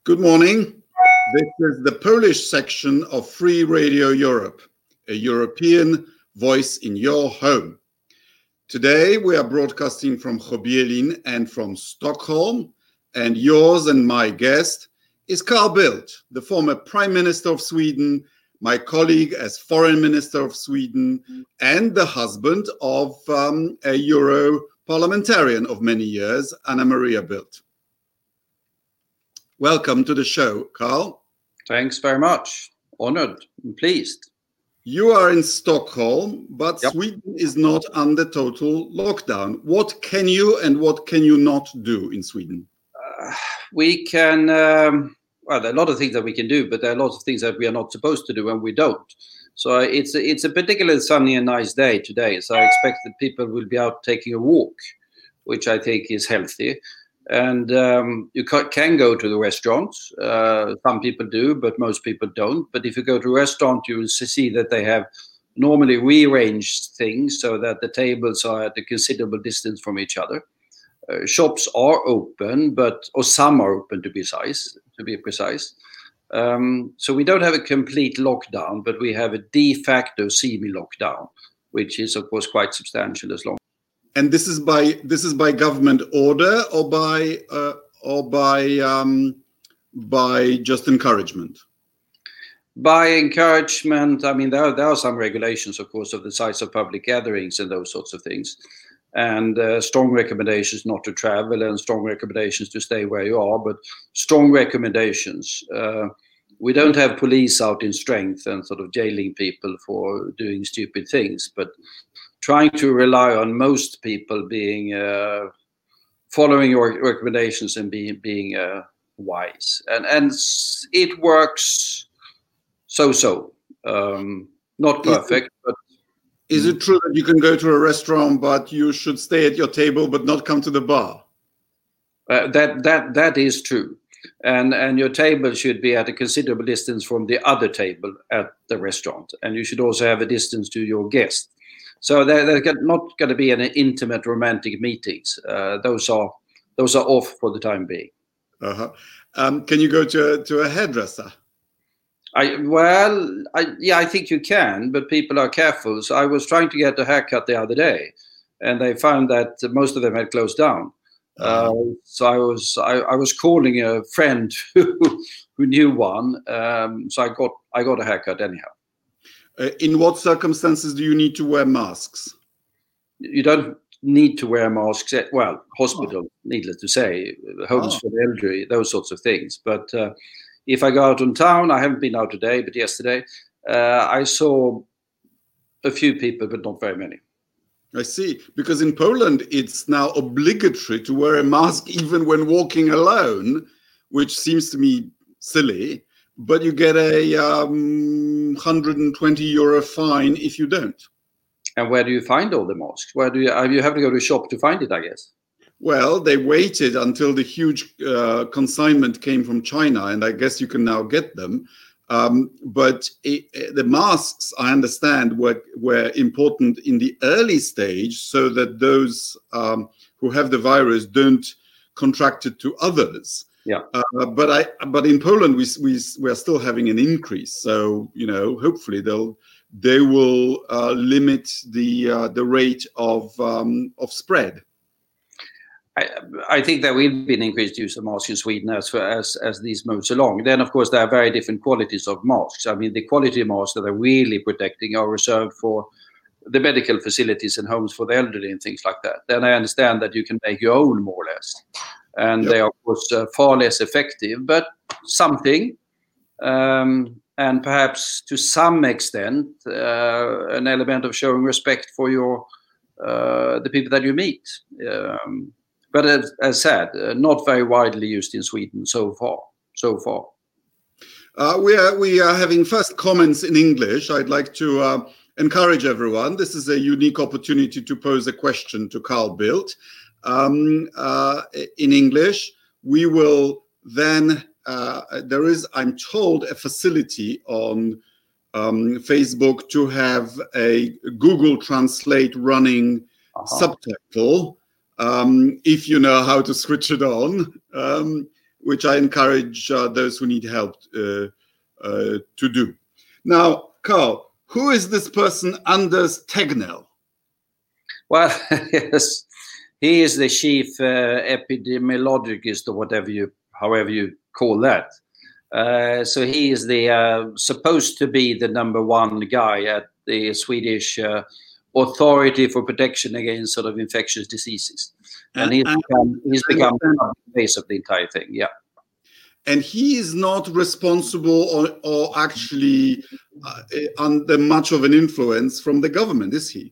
Good morning. This is the Polish section of Free Radio Europe, a European voice in your home. Today we are broadcasting from Chobielin and from Stockholm, and yours and my guest is Carl Bildt, the former Prime Minister of Sweden, my colleague as Foreign Minister of Sweden, and the husband of a Euro parliamentarian of many years, Anna Maria Bildt. Welcome to the show, Carl. Thanks very much. Honored and pleased. You are in Stockholm, but Yep. Sweden is not under total lockdown. What can you and what can you not do in Sweden? We can, well, there are a lot of things that we can do, but there are lots of things that we are not supposed to do and we don't. So it's a particularly sunny and nice day today. So I expect that people will be out taking a walk, which I think is healthy. And you can go to the restaurants. Some people do, but most people don't. But if you go to a restaurant, you will see that they have normally rearranged things so that the tables are at a considerable distance from each other. Shops are open, or some are open to be precise. So we don't have a complete lockdown, but we have a de facto semi-lockdown, which is of course quite substantial as long. And this is by government order or by just encouragement? By encouragement, I mean, there are some regulations, of course, of the size of public gatherings and those sorts of things. And strong recommendations not to travel and strong recommendations to stay where you are, but strong recommendations. We don't have police out in strength and sort of jailing people for doing stupid things, but trying to rely on most people being following your recommendations and being wise, and it works so. Not perfect, but is it true that you can go to a restaurant, but you should stay at your table, but not come to the bar? That is true, and your table should be at a considerable distance from the other table at the restaurant, and you should also have a distance to your guest. So there's not going to be any intimate romantic meetings. Those are off for the time being. Can you go to a hairdresser? I think you can, but people are careful. So I was trying to get a haircut the other day, and they found that most of them had closed down. So I was calling a friend who knew one. So I got a haircut anyhow. In what circumstances do you need to wear masks? You don't need to wear masks. Well, hospital, needless to say, homes for the elderly, those sorts of things. But if I go out on town, I haven't been out today, but yesterday, I saw a few people, but not very many. I see. Because in Poland, it's now obligatory to wear a mask even when walking alone, which seems to me silly. But you get a 120 euro fine if you don't. And where do you find all the masks? Where do you have to go to a shop to find it, I guess? Well, they waited until the huge consignment came from China, and I guess you can now get them. But the masks, I understand, were important in the early stage so that those who have the virus don't contract it to others. Yeah. But in Poland we are still having an increase. So hopefully they will limit the rate of spread. I think there will be an increased use of masks in Sweden as these moves along. Then of course there are very different qualities of masks. I mean, the quality of masks that are really protecting are reserved for the medical facilities and homes for the elderly and things like that. Then I understand that you can make your own more or less. And They are, of course, far less effective, but something, and perhaps to some extent, an element of showing respect for the people that you meet. But as said, not very widely used in Sweden so far. We are having first comments in English. I'd like to encourage everyone. This is a unique opportunity to pose a question to Carl Bildt. In English, we will then, there is, I'm told, a facility on Facebook to have a Google Translate running subtitle, if you know how to switch it on. which I encourage those who need help to do. Now, Carl, who is this person, Anders Tegnell? Well, yes, he is the chief epidemiologist, or however you call that. So he is the supposed to be the number one guy at the Swedish Authority for Protection Against sort of infectious diseases, and he's become the face of the entire thing. Yeah, and he is not responsible or actually under much of an influence from the government, is he?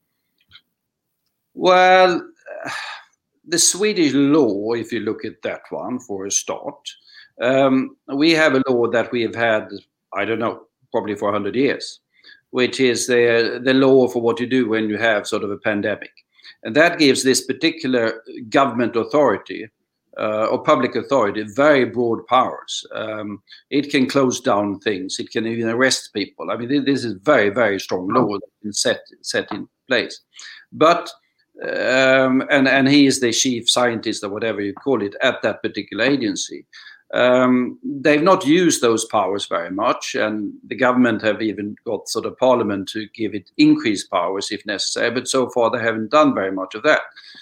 Well, the Swedish law, if you look at that one for a start, we have a law that we have had, I don't know, probably for 100 years, which is the law for what you do when you have sort of a pandemic. And that gives this particular government authority or public authority very broad powers. It can close down things. It can even arrest people. I mean, this is very, very strong law that's set in place. But and he is the chief scientist or whatever you call it at that particular agency. They've not used those powers very much, and the government have even got sort of parliament to give it increased powers if necessary, but so far they haven't done very much of that.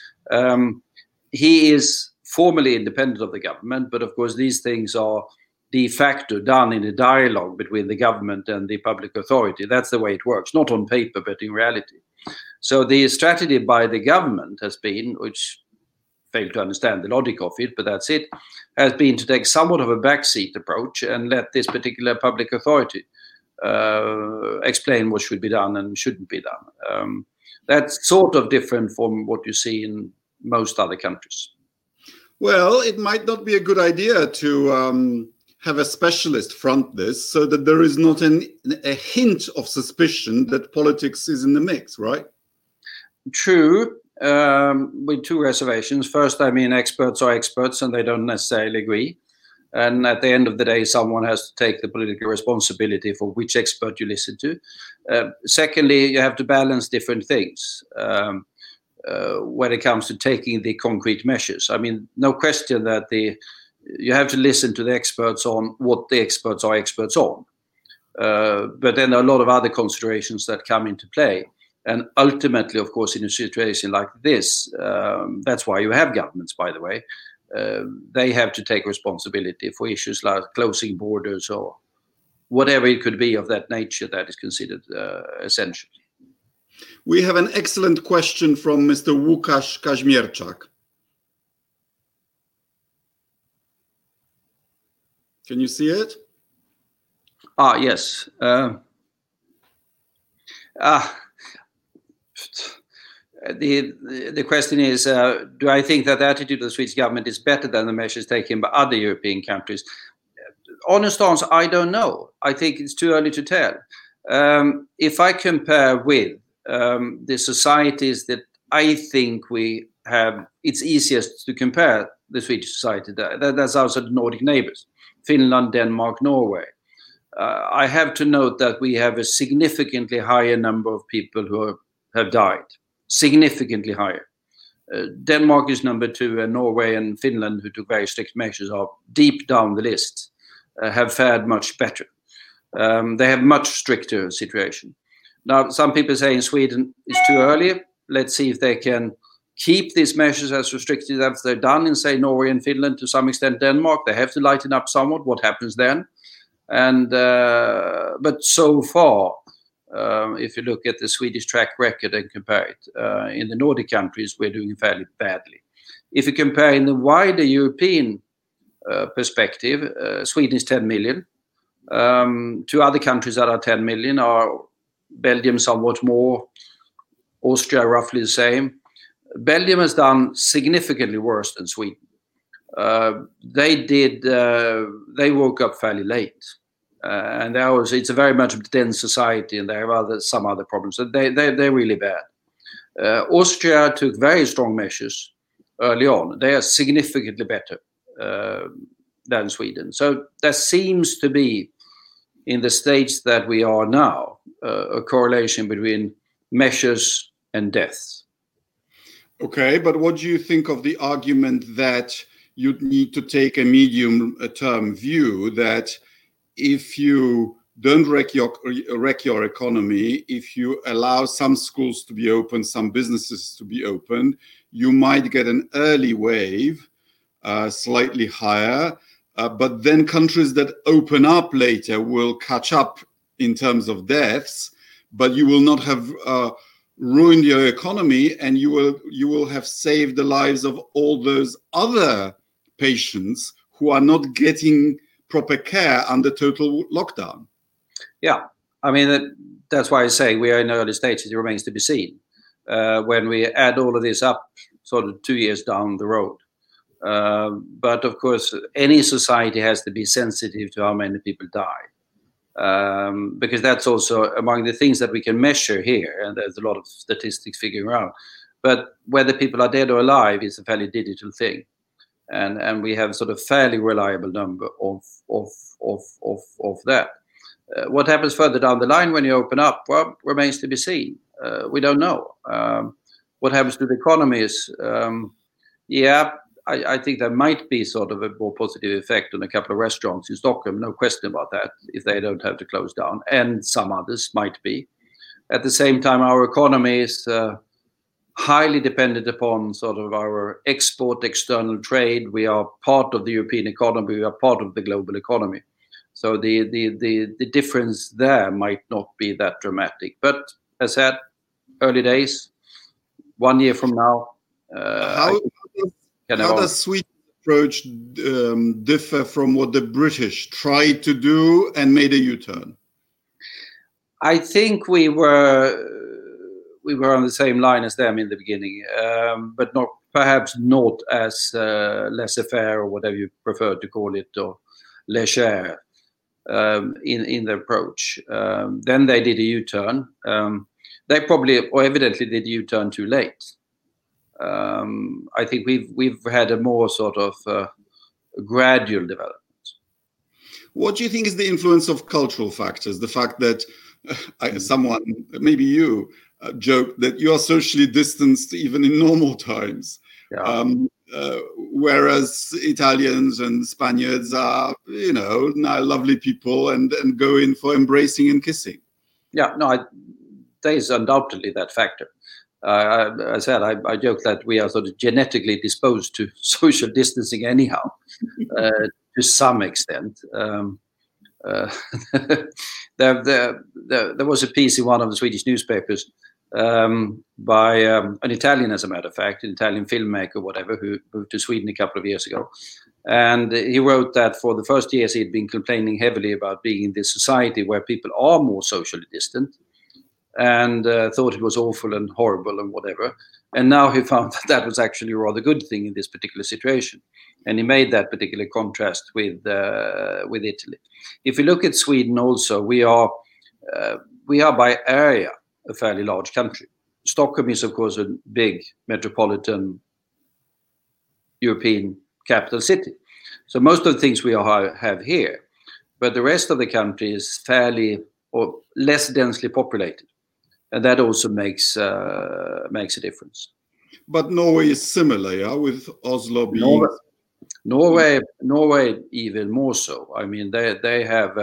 He is formally independent of the government, but of course these things are de facto done in a dialogue between the government and the public authority. That's the way it works, not on paper, but in reality. So the strategy by the government has been, which failed to understand the logic of it, but that's it, has been to take somewhat of a backseat approach and let this particular public authority explain what should be done and shouldn't be done. That's sort of different from what you see in most other countries. Well, it might not be a good idea to have a specialist front this so that there is not a hint of suspicion that politics is in the mix, right? True, with two reservations. First, I mean, experts are experts and they don't necessarily agree. And at the end of the day, someone has to take the political responsibility for which expert you listen to. Secondly, you have to balance different things when it comes to taking the concrete measures. I mean, no question that you have to listen to the experts on what the experts are experts on. But then there are a lot of other considerations that come into play. And ultimately, of course, in a situation like this, that's why you have governments, by the way. They have to take responsibility for issues like closing borders or whatever it could be of that nature that is considered essential. We have an excellent question from Mr. Łukasz Kaźmierczak. Can you see it? Yes. The question is, do I think that the attitude of the Swedish government is better than the measures taken by other European countries? Honest answer, I don't know. I think it's too early to tell. If I compare with the societies that I think we have, it's easiest to compare the Swedish society. That's also the Nordic neighbors, Finland, Denmark, Norway. I have to note that we have a significantly higher number of people who have died. Significantly higher. Denmark is number 2, and Norway and Finland, who took very strict measures, are deep down the list, have fared much better. They have much stricter situation. Now, some people say in Sweden it's too early. Let's see if they can keep these measures as restricted as they're done in, say, Norway and Finland, to some extent Denmark. They have to lighten up somewhat. What happens then? And but so far, if you look at the Swedish track record and compare it, in the Nordic countries, we're doing fairly badly. If you compare in the wider European perspective, Sweden is 10 million. 2 other countries that are 10 million are Belgium somewhat more, Austria roughly the same. Belgium has done significantly worse than Sweden. They woke up fairly late. And it's a very much dense society, and they have some other problems. So they're really bad. Austria took very strong measures early on. They are significantly better than Sweden. So there seems to be, in the stage that we are now, a correlation between measures and deaths. Okay, but what do you think of the argument that you need to take a medium-term view that if you don't wreck your economy, if you allow some schools to be open, some businesses to be open, you might get an early wave, slightly higher, but then countries that open up later will catch up in terms of deaths, but you will not have ruined your economy, and you will have saved the lives of all those other patients who are not getting proper care under total lockdown. Yeah, I mean, that's why I say we are in early stages. It remains to be seen when we add all of this up sort of 2 years down the road. But of course, any society has to be sensitive to how many people die. Because that's also among the things that we can measure here, and there's a lot of statistics figuring out. But whether people are dead or alive is a fairly digital thing, and we have sort of fairly reliable number of that. What happens further down the line when you open up, well, remains to be seen. We don't know. What happens to the economies? I think there might be sort of a more positive effect on a couple of restaurants in Stockholm, no question about that, if they don't have to close down, and some others might be. At the same time, our economy is highly dependent upon sort of our export, external trade. We are part of the European economy. We are part of the global economy. So the difference there might not be that dramatic. But as I said, early days, 1 year from now. How does Sweden's approach differ from what the British tried to do and made a U-turn? I think we were on the same line as them in the beginning, but perhaps not as laissez-faire or whatever you prefer to call it, or légère in the approach. Then they did a U-turn. They probably or evidently did a U-turn too late. I think we've had a more sort of gradual development. What do you think is the influence of cultural factors? The fact that someone, maybe you, joked that you are socially distanced even in normal times, whereas Italians and Spaniards are, now lovely people and go in for embracing and kissing. Yeah, no, there is undoubtedly that factor. I said, I joke that we are sort of genetically disposed to social distancing anyhow, to some extent. There was a piece in one of the Swedish newspapers by an Italian, as a matter of fact, an Italian filmmaker, whatever, who moved to Sweden a couple of years ago. And he wrote that for the first years he'd been complaining heavily about being in this society where people are more socially distant, and thought it was awful and horrible and whatever. And now he found that was actually a rather good thing in this particular situation. And he made that particular contrast with Italy. If you look at Sweden also, we are by area a fairly large country. Stockholm is, of course, a big metropolitan European capital city. So most of the things we have here, but the rest of the country is fairly or less densely populated. And that also makes a difference. But Norway is similar, yeah, with Oslo being... Norway even more so. I mean, they have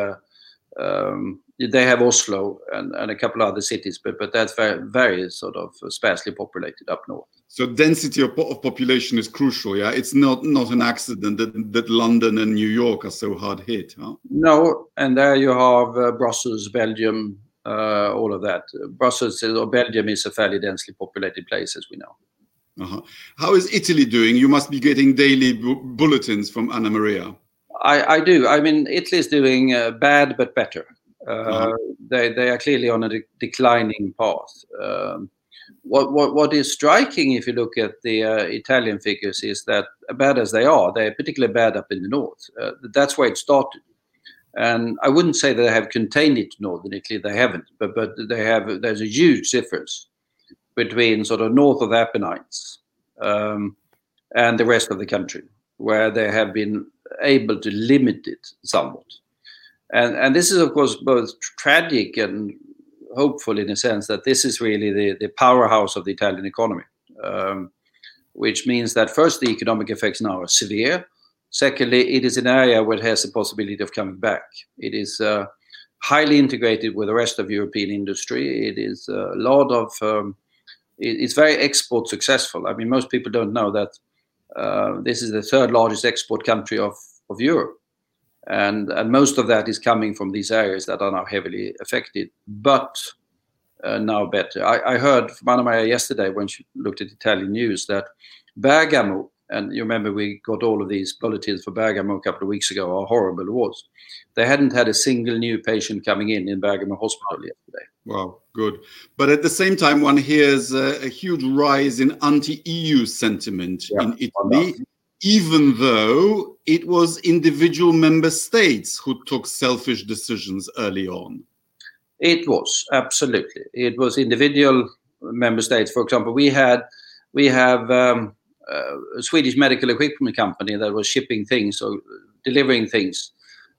Oslo and a couple of other cities, but that's very, very sort of sparsely populated up north. So density of population is crucial, yeah? It's not an accident that London and New York are so hard hit, huh? No, and there you have Brussels, Belgium, all of that. Brussels or Belgium is a fairly densely populated place, as we know. Uh-huh. How is Italy doing? You must be getting daily bulletins from Anna Maria. I do. I mean, Italy is doing bad but better. They are clearly on a declining path. What is striking, if you look at the Italian figures, is that bad as they are, they're particularly bad up in the north. That's where it started. And I wouldn't say that they have contained it to northern Italy. They haven't, but they have. There's a huge difference between sort of north of the Apennines and the rest of the country, where they have been able to limit it somewhat. And this is, of course, both tragic and hopeful in a sense that this is really the powerhouse of the Italian economy, which means that first, the economic effects now are severe. Secondly, it is an area where it has the possibility of coming back. It is highly integrated with the rest of European industry. It is a lot of, it's very export successful. I mean, most people don't know that this is the third largest export country of Europe. And most of that is coming from these areas that are now heavily affected, but now better. I heard from Anna Maria yesterday when she looked at Italian news that Bergamo, and you remember we got all of these bulletins for Bergamo a couple of weeks ago, how horrible it was. They hadn't had a single new patient coming in Bergamo hospital yesterday. Wow, good. But at the same time, one hears a huge rise in anti-EU sentiment in Italy, even though it was individual member states who took selfish decisions early on. It was, absolutely. It was individual member states. For example, we have a Swedish medical equipment company that was shipping things or delivering things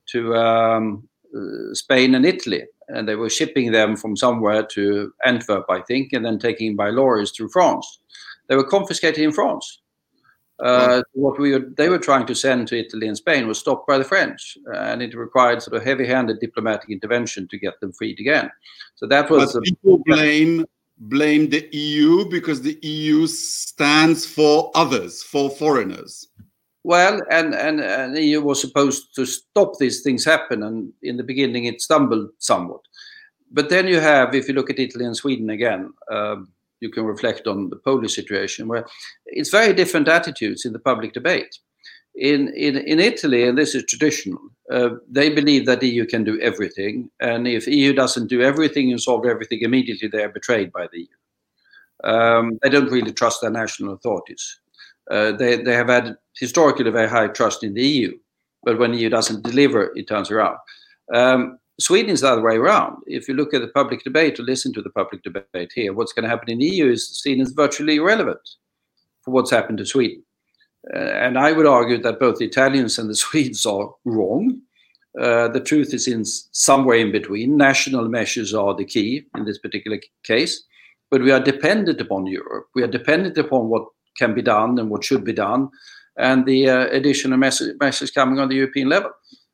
to Spain and Italy. And they were shipping them from somewhere to Antwerp, I think, and then taking by lorries through France. They were confiscated in France. What they were trying to send to Italy and Spain was stopped by the French, and it required sort of heavy-handed diplomatic intervention to get them freed again. So that was. But people blame the EU because the EU stands for others, for foreigners. Well, and the EU was supposed to stop these things happen, and in the beginning it stumbled somewhat. But then you have, if you look at Italy and Sweden again. You can reflect on the Polish situation, where it's very different attitudes in the public debate. In Italy, and this is traditional, they believe that the EU can do everything, and if EU doesn't do everything and solve everything immediately, they are betrayed by the EU. They don't really trust their national authorities. They have had historically very high trust in the EU, but when the EU doesn't deliver, it turns around. Sweden is the other way around. If you look at the public debate or listen to the public debate here, what's going to happen in the EU is seen as virtually irrelevant for what's happened to Sweden. And I would argue that both the Italians and the Swedes are wrong. The truth is in somewhere in between. National measures are the key in this particular case. But we are dependent upon Europe. We are dependent upon what can be done and what should be done, and the additional measures coming on the European level.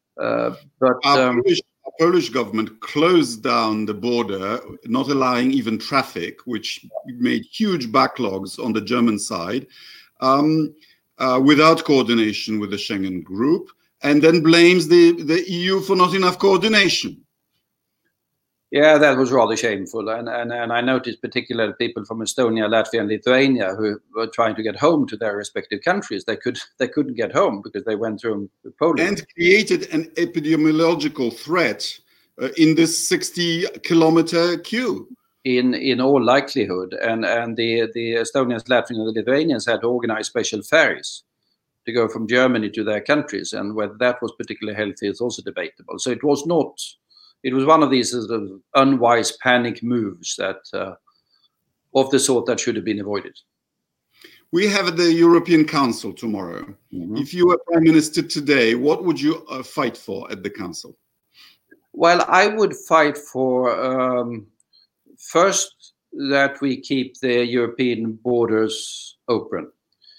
Polish government closed down the border, not allowing even traffic, which made huge backlogs on the German side, without coordination with the Schengen group, and then blames the EU for not enough coordination. Yeah, that was rather shameful. And I noticed particularly people from Estonia, Latvia, and Lithuania who were trying to get home to their respective countries. They couldn't get home because they went through Poland. And created an epidemiological threat in this 60-kilometer queue. In all likelihood. And the Estonians, Latvians, and the Lithuanians had to organize special ferries to go from Germany to their countries. And whether that was particularly healthy is also debatable. So it was not... It was one of these sort of unwise panic moves that of the sort that should have been avoided. We have the European Council tomorrow. Mm-hmm. If you were Prime Minister today, what would you fight for at the Council? Well, I would fight for, first, that we keep the European borders open.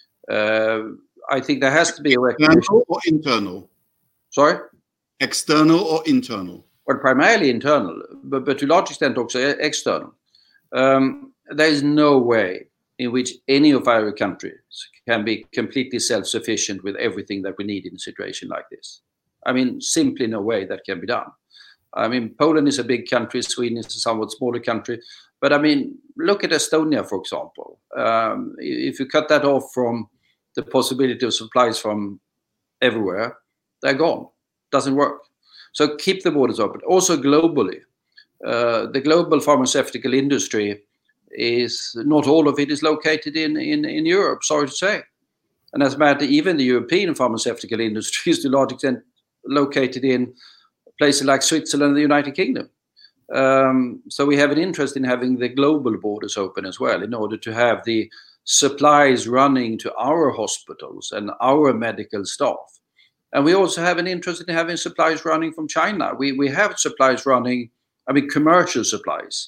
I think there has to be a recognition. External or internal? Sorry? External or internal? Well, primarily internal, but to a large extent also external. There is no way in which any of our countries can be completely self-sufficient with everything that we need in a situation like this. I mean, simply no way that can be done. I mean, Poland is a big country, Sweden is a somewhat smaller country. But I mean, look at Estonia, for example. If you cut that off from the possibility of supplies from everywhere, they're gone. Doesn't work. So keep the borders open. Also globally, the global pharmaceutical industry is not all of it is located in Europe, sorry to say. And as a matter, even the European pharmaceutical industry is to a large extent located in places like Switzerland and the United Kingdom. So we have an interest in having the global borders open as well in order to have the supplies running to our hospitals and our medical staff. And we also have an interest in having supplies running from China. We have supplies running, I mean, commercial supplies,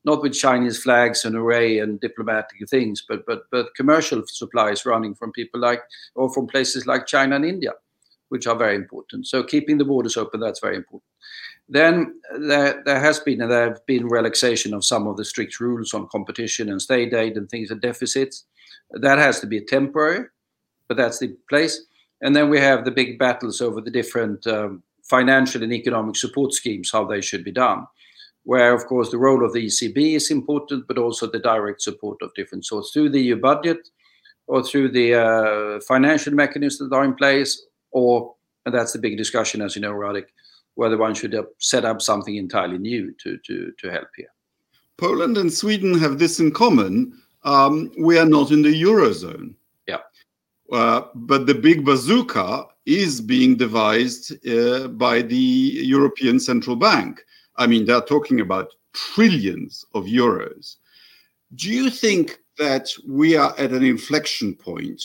not with Chinese flags and array and diplomatic things, but commercial supplies running from people like, or from places like China and India, which are very important. So keeping the borders open, that's very important. Then there have been relaxation of some of the strict rules on competition and state aid and things and deficits. That has to be temporary, but that's the place. And then we have the big battles over the different financial and economic support schemes, how they should be done, where, of course, the role of the ECB is important, but also the direct support of different sorts through the EU budget or through the financial mechanisms that are in place, and that's the big discussion, as you know, Radek, whether one should set up something entirely new to help here. Poland and Sweden have this in common. We are not in the Eurozone. Yeah. But the big bazooka is being devised by the European Central Bank. I mean, they're talking about trillions of euros. Do you think that we are at an inflection point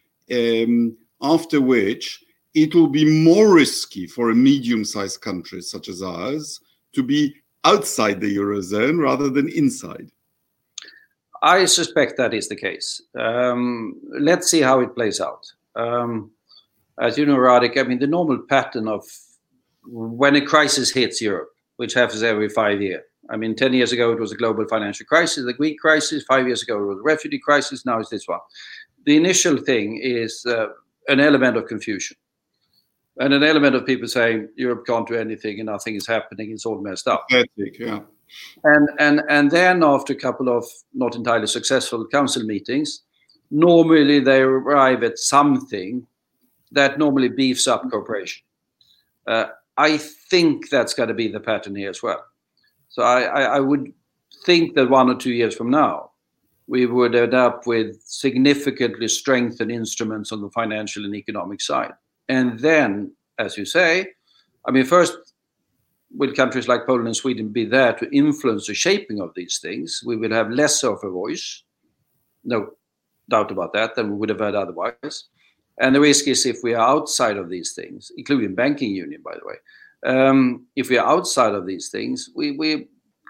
after which it will be more risky for a medium-sized country such as ours to be outside the Eurozone rather than inside? I suspect that is the case. Let's see how it plays out. As you know, Radek, I mean, the normal pattern of when a crisis hits Europe, which happens every 5 years. I mean, 10 years ago, it was a global financial crisis, the Greek crisis. 5 years ago, it was a refugee crisis. Now it's this one. The initial thing is an element of confusion. And an element of people saying Europe can't do anything and nothing is happening, it's all messed up. Yeah. And then after a couple of not entirely successful council meetings, normally they arrive at something that normally beefs up cooperation. I think that's going to be the pattern here as well. So I would think that 1 or 2 years from now, we would end up with significantly strengthened instruments on the financial and economic side. And then, as you say, I mean, first, will countries like Poland and Sweden be there to influence the shaping of these things? We will have less of a voice, no doubt about that, than we would have had otherwise. And the risk is if we are outside of these things, including banking union, by the way, if we are outside of these things, we will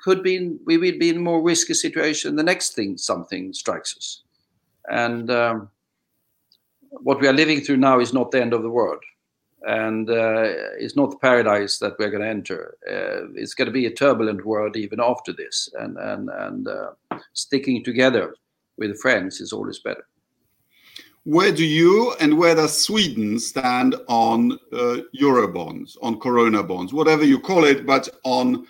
be in a more risky situation the next thing something strikes us. And what we are living through now is not the end of the world. And it's not the paradise that we're going to enter. It's going to be a turbulent world even after this. And sticking together with friends is always better. Where do you and where does Sweden stand on Eurobonds, on Corona bonds, whatever you call it, but on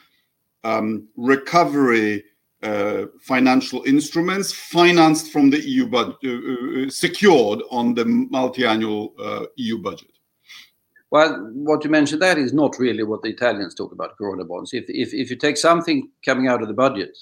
recovery financial instruments financed from the EU budget, secured on the multi-annual EU budget? Well, what you mentioned that is not really what the Italians talk about, Corona bonds. If you take something coming out of the budget,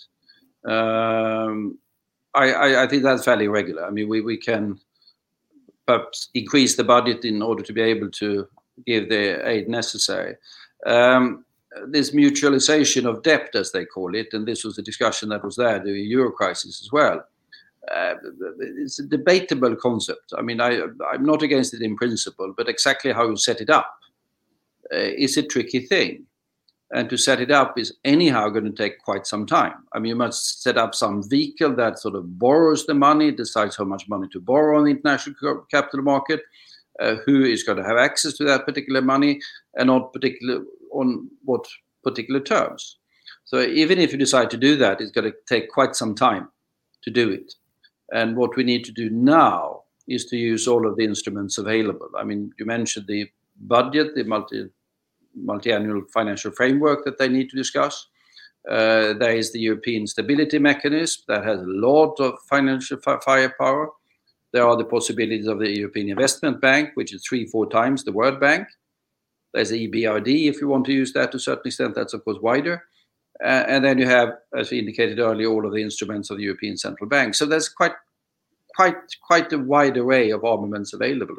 I think that's fairly regular. I mean, we can perhaps increase the budget in order to be able to give the aid necessary. This mutualization of debt, as they call it, and this was a discussion that was there during the Euro crisis as well. It's a debatable concept. I mean, I'm not against it in principle, but exactly how you set it up is a tricky thing. And to set it up is anyhow going to take quite some time. I mean, you must set up some vehicle that sort of borrows the money, decides how much money to borrow on the international capital market, who is going to have access to that particular money, and on what particular terms. So even if you decide to do that, it's going to take quite some time to do it. And what we need to do now is to use all of the instruments available. I mean, you mentioned the budget, the multi-annual financial framework that they need to discuss. There is the European Stability Mechanism that has a lot of financial firepower. There are the possibilities of the European Investment Bank, which is 3-4 times the World Bank. There's the EBRD, if you want to use that to a certain extent. That's, of course, wider. And then you have, as we indicated earlier, all of the instruments of the European Central Bank. So there's quite a wide array of armaments available.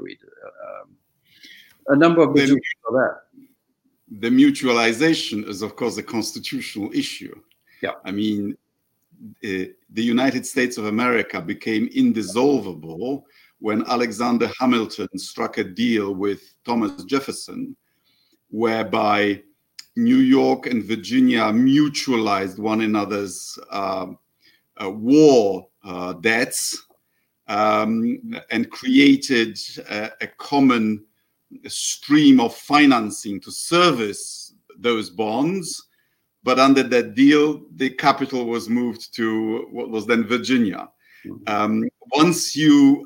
A number of them are there. The mutualization is, of course, a constitutional issue. Yeah. I mean, the United States of America became indissoluble when Alexander Hamilton struck a deal with Thomas Jefferson, whereby New York and Virginia mutualized one another's war debts and created a common stream of financing to service those bonds. But under that deal, the capital was moved to what was then Virginia. Once you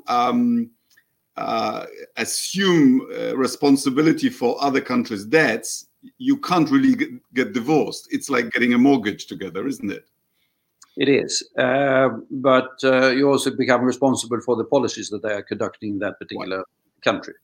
assume responsibility for other countries' debts, you can't really get divorced. It's like getting a mortgage together, isn't it? It is. But you also become responsible for the policies that they are conducting in that particular country.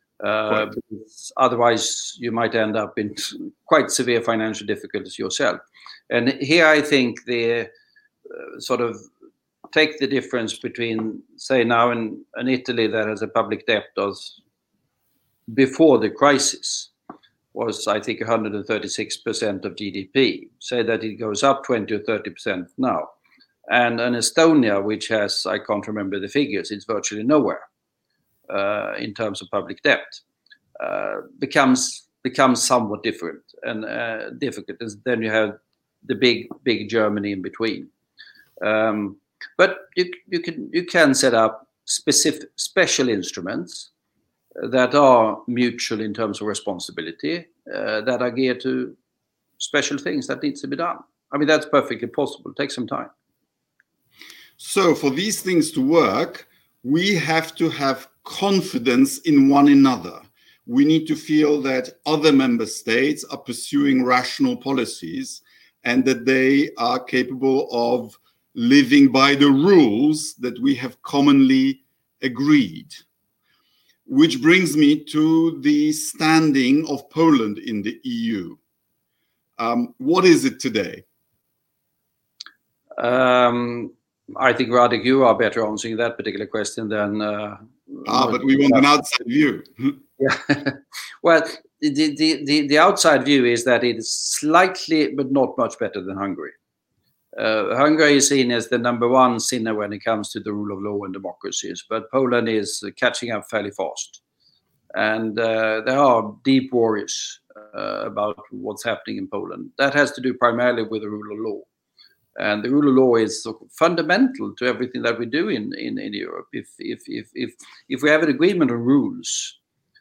Otherwise, you might end up in quite severe financial difficulties yourself. And here I think the sort of take the difference between, say, now in Italy that has a public debt of before the crisis was, I think, 136% of GDP. Say that it goes up 20 or 30% now. And in Estonia, which has, I can't remember the figures, it's virtually nowhere in terms of public debt, becomes somewhat different and difficult. And then you have the big Germany in between. But you can set up special instruments that are mutual in terms of responsibility, that are geared to special things that needs to be done. I mean, that's perfectly possible. It takes some time. So for these things to work, we have to have confidence in one another. We need to feel that other member states are pursuing rational policies and that they are capable of living by the rules that we have commonly agreed. Which brings me to the standing of Poland in the EU. What is it today? I think, Radek, you are better answering that particular question than... but we want an outside view. Yeah. Well, the outside view is that it is slightly, but not much better than Hungary. Hungary is seen as the number one sinner when it comes to the rule of law and democracies, but Poland is catching up fairly fast. And there are deep worries about what's happening in Poland. That has to do primarily with the rule of law. And the rule of law is fundamental to everything that we do in Europe. If we have an agreement on rules,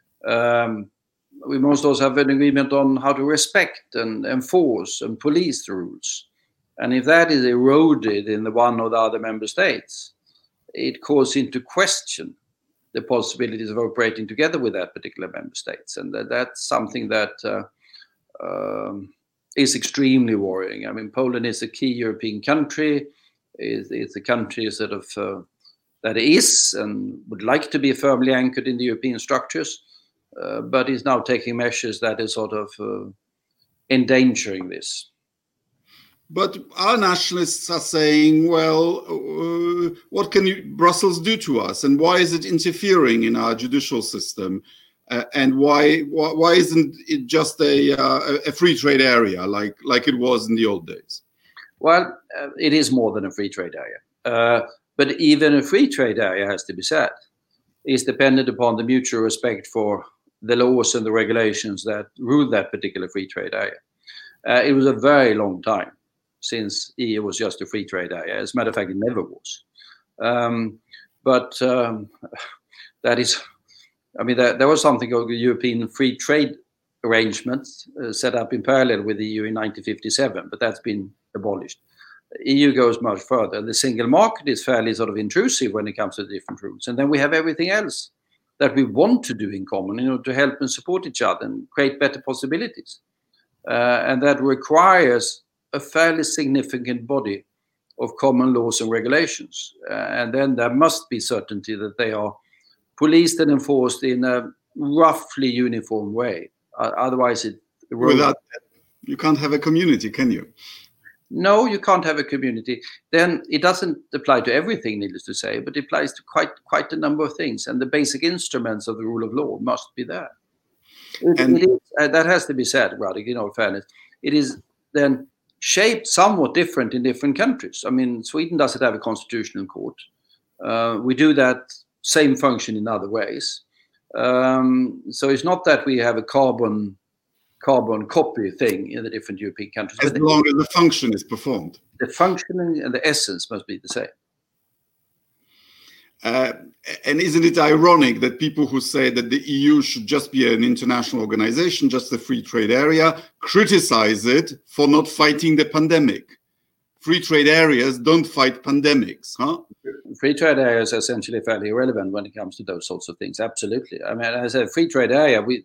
we must also have an agreement on how to respect and enforce and police the rules. And if that is eroded in the one or the other member states, it calls into question the possibilities of operating together with that particular member states. And that's something that is extremely worrying. I mean, Poland is a key European country. It's a country sort of that is and would like to be firmly anchored in the European structures, but is now taking measures that is sort of endangering this. But our nationalists are saying, well, what can Brussels do to us? And why is it interfering in our judicial system? And why isn't it just a free trade area like it was in the old days? Well, it is more than a free trade area. But even a free trade area, has to be said, is dependent upon the mutual respect for the laws and the regulations that rule that particular free trade area. It was a very long time since EU was just a free trade area. As a matter of fact, it never was. But that is, I mean, there was something called the European Free Trade Arrangements set up in parallel with the EU in 1957, but that's been abolished. The EU goes much further. The single market is fairly sort of intrusive when it comes to the different rules. And then we have everything else that we want to do in common, you know, to help and support each other and create better possibilities. And that requires a fairly significant body of common laws and regulations. And then there must be certainty that they are policed and enforced in a roughly uniform way. Otherwise, without that, you can't have a community, can you? No, you can't have a community. Then it doesn't apply to everything, needless to say, but it applies to quite a number of things. And the basic instruments of the rule of law must be there. It is, that has to be said, Radek, in all fairness. It is then shaped somewhat different in different countries. I mean, Sweden doesn't have a constitutional court. We do that same function in other ways. So it's not that we have a carbon carbon copy thing in the different European countries. As long as the function is performed. The functioning and the essence must be the same. And isn't it ironic that people who say that the EU should just be an international organization, just a free trade area, criticize it for not fighting the pandemic? Free trade areas don't fight pandemics, huh? Free trade areas are essentially fairly irrelevant when it comes to those sorts of things. Absolutely. I mean, as a free trade area, we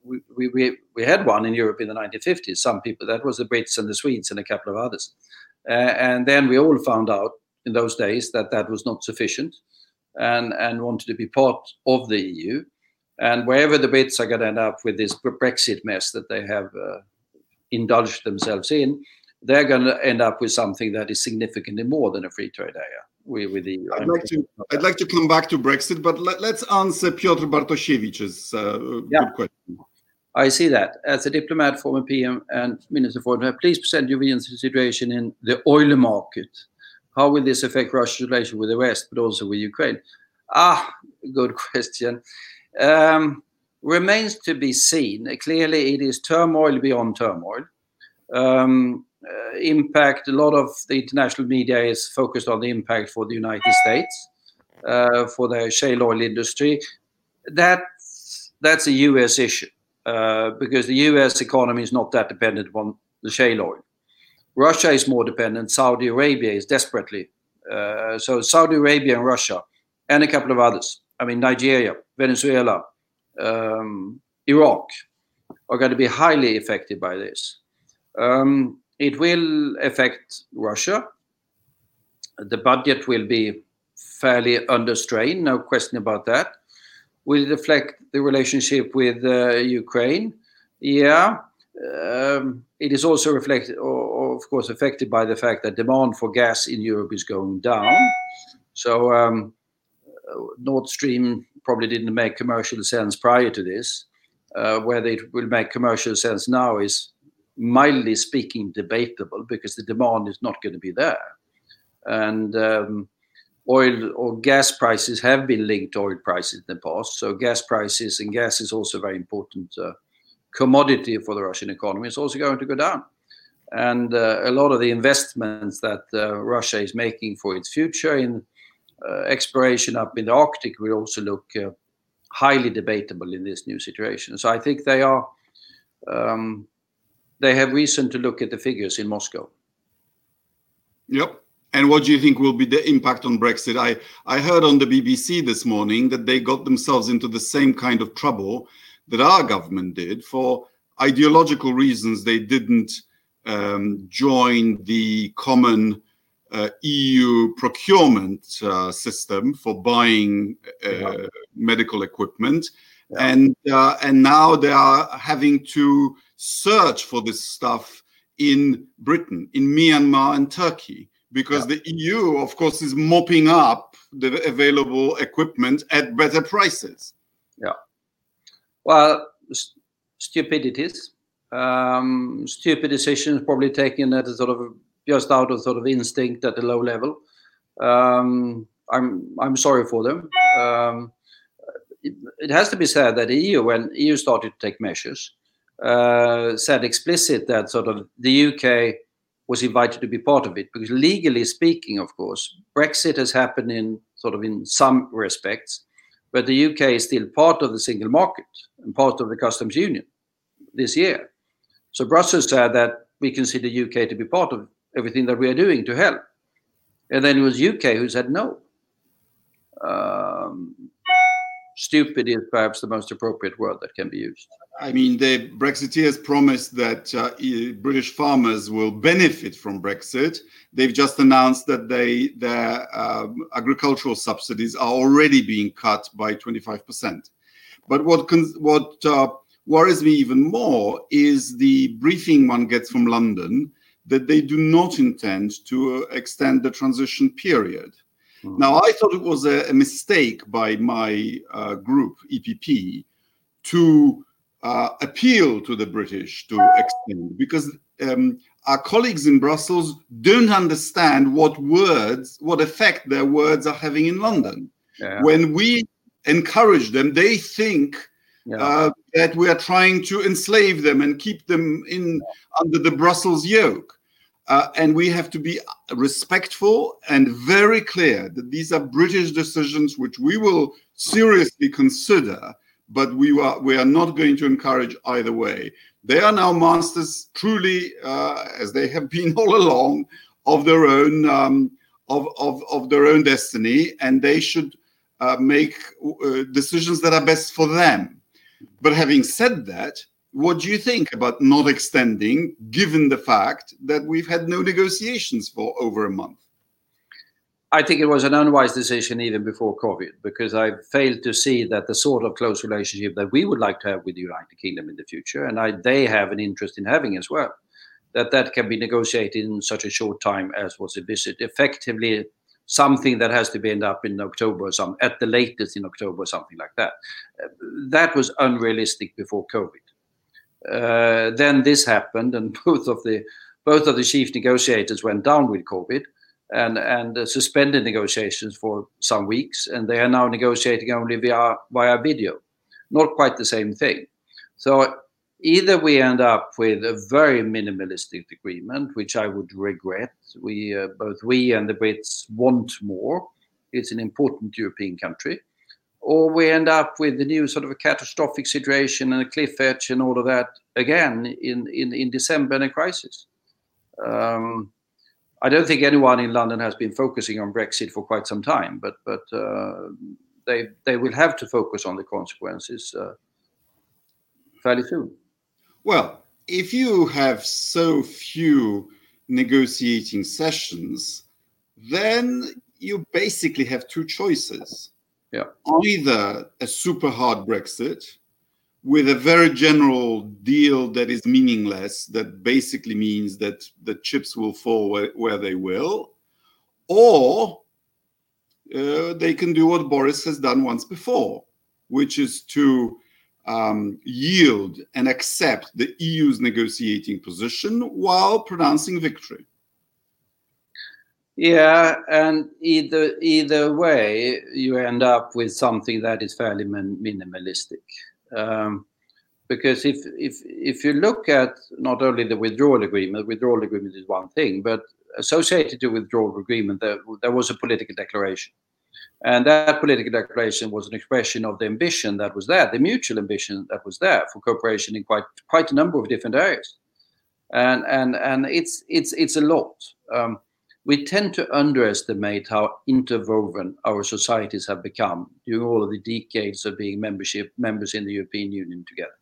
had one in Europe in the 1950s. Some people, that was the Brits and the Swedes and a couple of others. And then we all found out in those days that that was not sufficient and wanted to be part of the EU. And wherever the Brits are going to end up with this Brexit mess that they have indulged themselves in, they're going to end up with something that is significantly more than a free trade area. With the EU. I'd like to come back to Brexit, but let's answer Piotr Bartosiewicz's good question. I see that. As a diplomat, former PM and Minister for Foreign, please present your view on the situation in the oil market. How will this affect Russia's relation with the West, but also with Ukraine? Good question. Remains to be seen. Clearly, it is turmoil beyond turmoil. Impact, a lot of the international media is focused on the impact for the United States, for the shale oil industry. That's a US issue, because the US economy is not that dependent upon the shale oil. Russia is more dependent. Saudi Arabia is desperately. So Saudi Arabia and Russia and a couple of others, I mean, Nigeria, Venezuela, Iraq, are going to be highly affected by this. It will affect Russia. The budget will be fairly under strain, no question about that. Will it affect the relationship with Ukraine? Yeah. It is also reflected, or of course, affected by the fact that demand for gas in Europe is going down. So Nord Stream probably didn't make commercial sense prior to this. Whether it will make commercial sense now is, mildly speaking, debatable, because the demand is not going to be there. And oil or gas prices have been linked to oil prices in the past. So gas prices, and gas is also a very important commodity for the Russian economy, is also going to go down. And a lot of the investments that Russia is making for its future in exploration up in the Arctic will also look highly debatable in this new situation. So I think they are... they have reason to look at the figures in Moscow. Yep. And what do you think will be the impact on Brexit? I heard on the BBC this morning that they got themselves into the same kind of trouble that our government did. For ideological reasons, they didn't join the common EU procurement system for buying medical equipment. Yeah. And now they are having to search for this stuff in Britain, in Myanmar and Turkey, because the EU, of course, is mopping up the available equipment at better prices. Yeah. Well, stupidities, stupid decisions probably taken at a sort of just out of sort of instinct at a low level. I'm sorry for them. It has to be said that EU, when EU started to take measures, said explicit that sort of the UK was invited to be part of it, because legally speaking, of course, Brexit has happened in sort of in some respects, but the UK is still part of the single market and part of the customs union this year. So Brussels said that we consider UK to be part of everything that we are doing to help. And then it was UK who said no. Stupid is perhaps the most appropriate word that can be used. I mean, the Brexiteers promised that British farmers will benefit from Brexit. They've just announced that their agricultural subsidies are already being cut by 25%. But what worries me even more is the briefing one gets from London that they do not intend to extend the transition period. Now, I thought it was a mistake by my group, EPP, to appeal to the British to extend, because our colleagues in Brussels don't understand what effect their words are having in London. Yeah. When we encourage them, they think that we are trying to enslave them and keep them under the Brussels yoke. And we have to be respectful and very clear that these are British decisions which we will seriously consider, but we are not going to encourage either way. They are now masters, truly, as they have been all along, of their own of their own destiny, and they should make decisions that are best for them. But having said that, what do you think about not extending, given the fact that we've had no negotiations for over a month? I think it was an unwise decision even before COVID, because I failed to see that the sort of close relationship that we would like to have with the United Kingdom in the future, and they have an interest in having as well, that can be negotiated in such a short time as was envisaged. Effectively, something that has to be end up in October or something, at the latest in October or something like that. That was unrealistic before COVID. Then this happened, and both of the chief negotiators went down with COVID and suspended negotiations for some weeks, and they are now negotiating only via video. Not quite the same thing. So either we end up with a very minimalistic agreement, which I would regret. Both we and the Brits want more. It's an important European country. Or we end up with the new sort of a catastrophic situation and a cliff edge and all of that again in December, and a crisis. I don't think anyone in London has been focusing on Brexit for quite some time, but they will have to focus on the consequences fairly soon. Well, if you have so few negotiating sessions, then you basically have two choices. Yeah. Either a super hard Brexit with a very general deal that is meaningless, that basically means that the chips will fall where they will, or they can do what Boris has done once before, which is to yield and accept the EU's negotiating position while pronouncing victory. Yeah, and either way, you end up with something that is fairly minimalistic. Because if you look at not only the withdrawal agreement is one thing, but associated to withdrawal agreement, there was a political declaration. And that political declaration was an expression of the ambition that was there, the mutual ambition that was there for cooperation in quite a number of different areas. And it's a lot. We tend to underestimate how interwoven our societies have become during all of the decades of being members in the European Union together.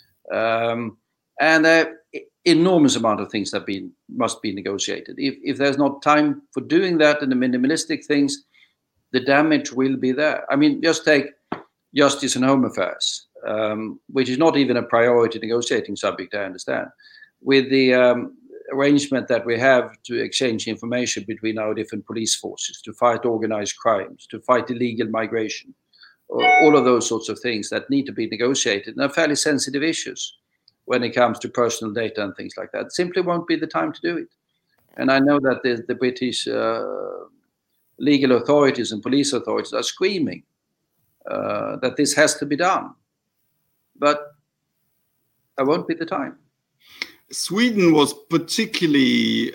And an enormous amount of things must be negotiated. If there's not time for doing that and the minimalistic things, the damage will be there. I mean, just take Justice and Home Affairs, which is not even a priority negotiating subject, I understand, with the arrangement that we have to exchange information between our different police forces, to fight organized crimes, to fight illegal migration, all of those sorts of things that need to be negotiated, and are fairly sensitive issues when it comes to personal data and things like that. Simply won't be the time to do it. And I know that the British legal authorities and police authorities are screaming that this has to be done. But there won't be the time. Sweden was particularly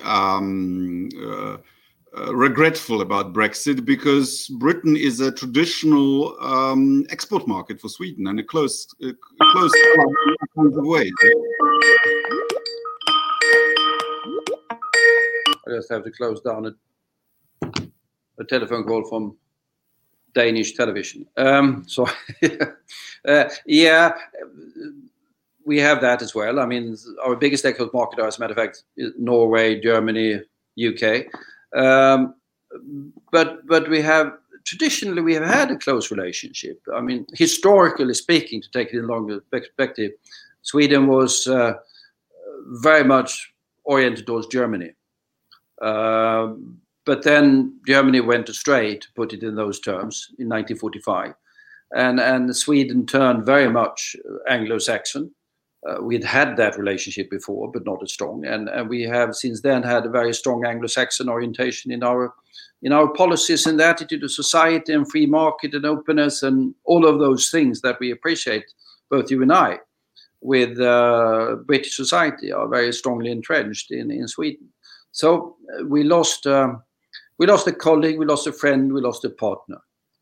regretful about Brexit because Britain is a traditional export market for Sweden and a close in kinds of ways. I just have to close down a telephone call from Danish television. So, yeah. We have that as well. I mean, our biggest export market, as a matter of fact, is Norway, Germany, UK. But we have traditionally we have had a close relationship. I mean, historically speaking, to take it in a longer perspective, Sweden was very much oriented towards Germany. But then Germany went astray, to put it in those terms, in 1945, and Sweden turned very much Anglo-Saxon. We'd had that relationship before, but not as strong, and we have since then had a very strong Anglo-Saxon orientation in our policies and the attitude of society and free market and openness and all of those things that we appreciate both you and I, with British society are very strongly entrenched in Sweden. So we lost a colleague, we lost a friend, we lost a partner.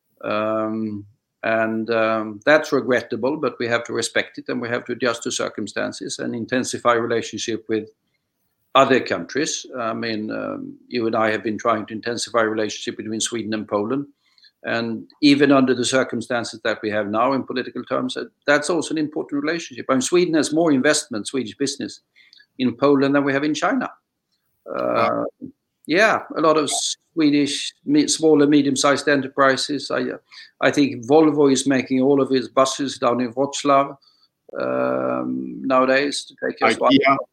That's regrettable, but we have to respect it, and we have to adjust to circumstances and intensify relationship with other countries. I mean, you and I have been trying to intensify relationship between Sweden and Poland. And even under the circumstances that we have now in political terms, that's also an important relationship. I mean, Sweden has more investment, Swedish business, in Poland than we have in China. Wow. Yeah, a lot of Swedish small and medium-sized enterprises. I think Volvo is making all of its buses down in Wrocław nowadays to take us.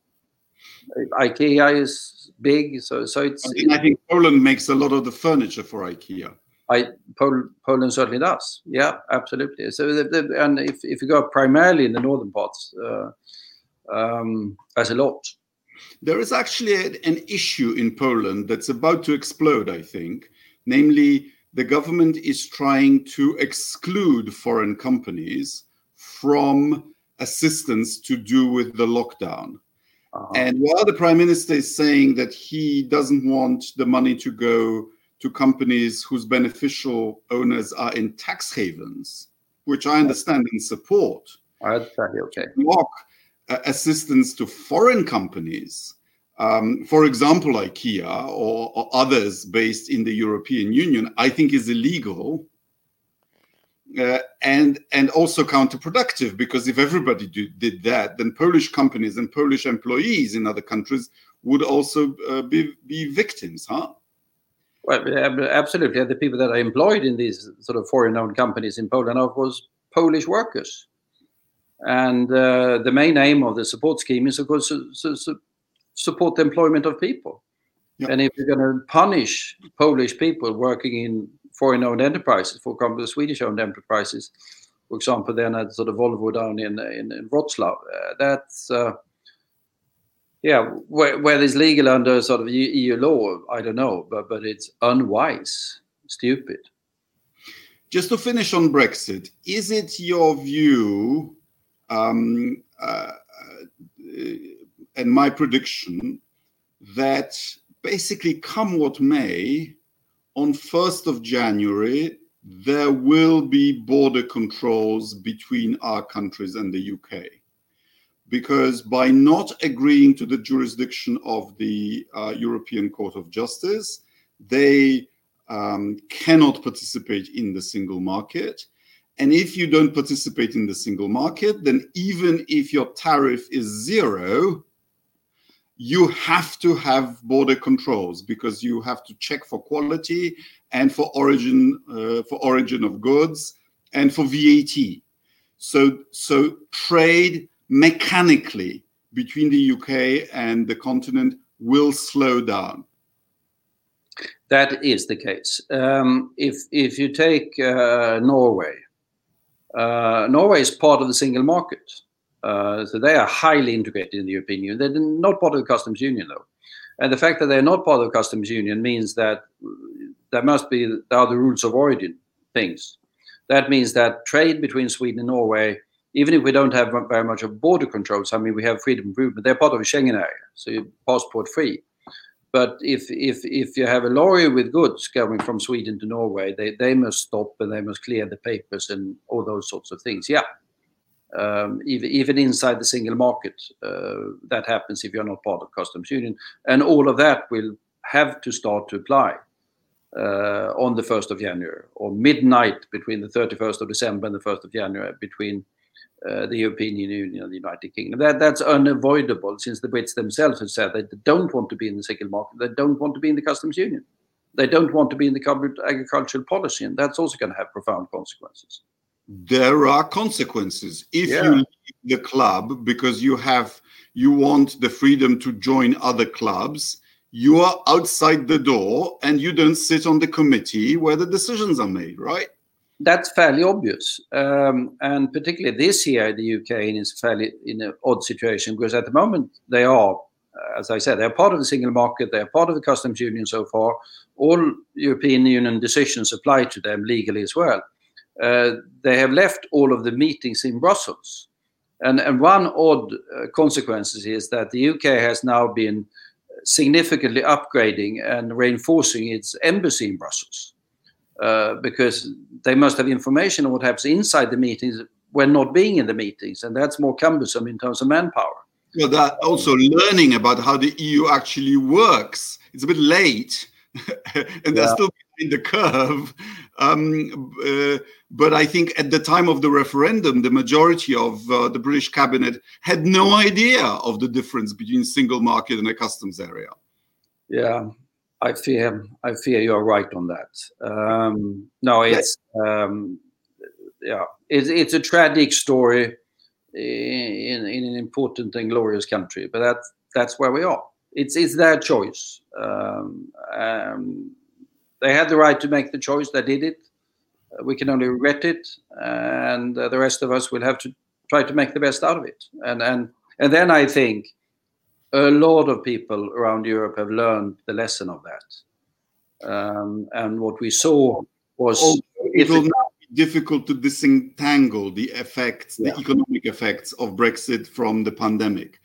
IKEA is big, so it's. I think Poland makes a lot of the furniture for IKEA. Poland certainly does. Yeah, absolutely. So, and if you go primarily in the northern parts, there's a lot. There is actually an issue in Poland that's about to explode, I think. Namely, the government is trying to exclude foreign companies from assistance to do with the lockdown. And while the prime minister is saying that he doesn't want the money to go to companies whose beneficial owners are in tax havens, which I understand and support, that's okay. Block assistance to foreign companies, for example, IKEA or others based in the European Union, I think is illegal and also counterproductive, because if everybody did that, then Polish companies and Polish employees in other countries would also be victims, huh? Well, absolutely. The people that are employed in these sort of foreign-owned companies in Poland are, of course, Polish workers. And the main aim of the support scheme is, of course, to support the employment of people. Yep. And if you're going to punish Polish people working in foreign-owned enterprises, for example, the Swedish-owned enterprises, for example, then at sort of Volvo down in Wrocław, that's whether it's legal under sort of EU law, I don't know, but it's unwise, stupid. Just to finish on Brexit, is it your view and my prediction that basically, come what may, on 1st of January, there will be border controls between our countries and the UK? Because by not agreeing to the jurisdiction of the European Court of Justice, they cannot participate in the single market. And if you don't participate in the single market, then even if your tariff is zero, you have to have border controls, because you have to check for quality and for origin of goods and for VAT. So trade mechanically between the UK and the continent will slow down. That is the case. If you take Norway, Norway is part of the single market. So they are highly integrated in the European Union. They're not part of the customs union, though. And the fact that they're not part of the customs union means that there are the rules of origin things. That means that trade between Sweden and Norway, even if we don't have very much of border controls, I mean, we have freedom of movement. They're part of the Schengen area, so you're passport free. But if you have a lorry with goods going from Sweden to Norway, they must stop and they must clear the papers and all those sorts of things. Yeah. Even inside the single market, that happens if you're not part of customs union. And all of that will have to start to apply on the 1st of January, or midnight between the 31st of December and the 1st of January, between the European Union and the United Kingdom. That's unavoidable, since the Brits themselves have said they don't want to be in the single market. They don't want to be in the customs union. They don't want to be in the common agricultural policy, and that's also going to have profound consequences. There are consequences if you leave the club because you want the freedom to join other clubs. You are outside the door and you don't sit on the committee where the decisions are made, right? That's fairly obvious. And particularly this year, the UK is fairly in an odd situation, because at the moment they are, as I said, they're part of the single market, they're part of the customs union so far. All European Union decisions apply to them legally as well. they have left all of the meetings in Brussels. And one odd consequence is that the UK has now been significantly upgrading and reinforcing its embassy in Brussels, because they must have information on what happens inside the meetings when not being in the meetings, and that's more cumbersome in terms of manpower. Well, that also learning about how the EU actually works. It's a bit late, and they're still behind the curve. But I think at the time of the referendum, the majority of the British cabinet had no idea of the difference between single market and a customs area. Yeah, I fear you're right on that. No, it's a tragic story in an important and glorious country, but that's where we are. It's their choice. They had the right to make the choice. They did it. We can only regret it, and the rest of us will have to try to make the best out of it. And then I think a lot of people around Europe have learned the lesson of that. And what we saw was it will now be difficult to disentangle the effects, the economic effects of Brexit from the pandemic.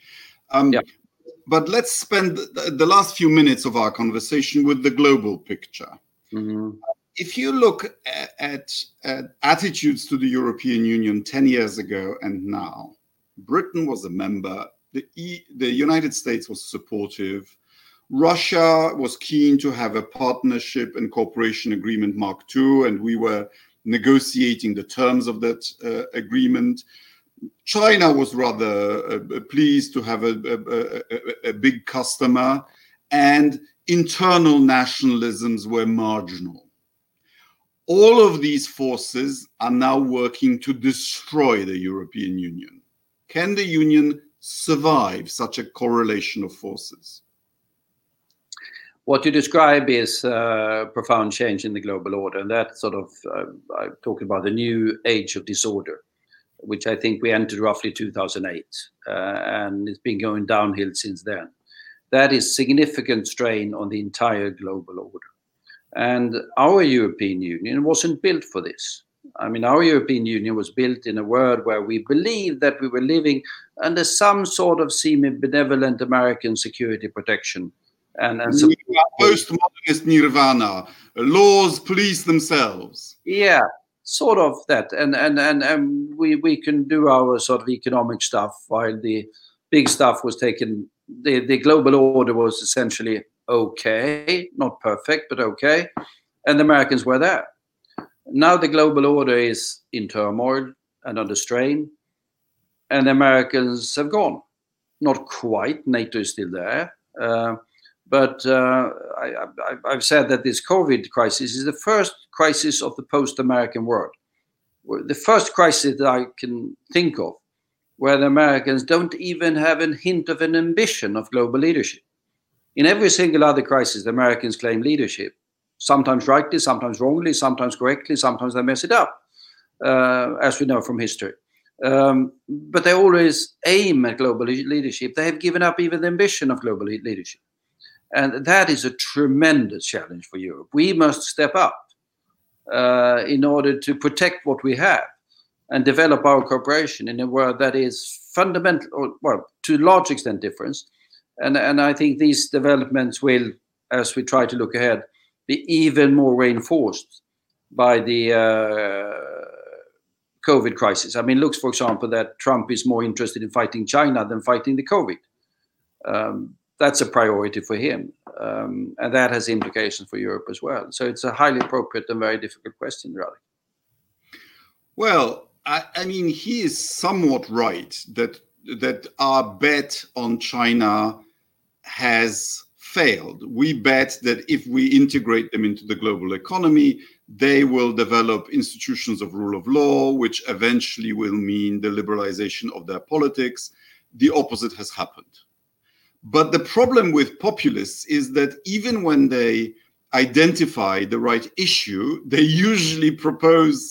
But let's spend the last few minutes of our conversation with the global picture. Mm-hmm. If you look at attitudes to the European Union 10 years ago and now, Britain was a member, the United States was supportive, Russia was keen to have a partnership and cooperation agreement Mark II, and we were negotiating the terms of that agreement. China was rather pleased to have a big customer, and internal nationalisms were marginal. All of these forces are now working to destroy the European Union. Can the Union survive such a correlation of forces? What you describe is a profound change in the global order, and that sort of, I'm talking about the new age of disorder, which I think we entered roughly 2008, and it's been going downhill since then. That is significant strain on the entire global order. And our European Union wasn't built for this. I mean, our European Union was built in a world where we believed that we were living under some sort of semi-benevolent American security protection. And postmodernist nirvana, laws police themselves. Yeah, sort of that. And we can do our sort of economic stuff while the big stuff was taken. The global order was essentially okay, not perfect, but okay. And the Americans were there. Now the global order is in turmoil and under strain, and the Americans have gone. Not quite. NATO is still there. But I've said that this COVID crisis is the first crisis of the post-American world. The first crisis that I can think of where the Americans don't even have a hint of an ambition of global leadership. In every single other crisis, the Americans claim leadership, sometimes rightly, sometimes wrongly, sometimes correctly, sometimes they mess it up, as we know from history. But they always aim at global leadership. They have given up even the ambition of global leadership. And that is a tremendous challenge for Europe. We must step up in order to protect what we have and develop our cooperation in a world that is fundamental, or, well, to a large extent different. And I think these developments will, as we try to look ahead, be even more reinforced by the COVID crisis. I mean, looks, for example, that Trump is more interested in fighting China than fighting the COVID. That's a priority for him. And that has implications for Europe as well. So it's a highly appropriate and very difficult question, Radek. Well, I mean, he is somewhat right that our bet on China has failed. We bet that if we integrate them into the global economy, they will develop institutions of rule of law, which eventually will mean the liberalization of their politics. The opposite has happened. But the problem with populists is that even when they identify the right issue, they usually propose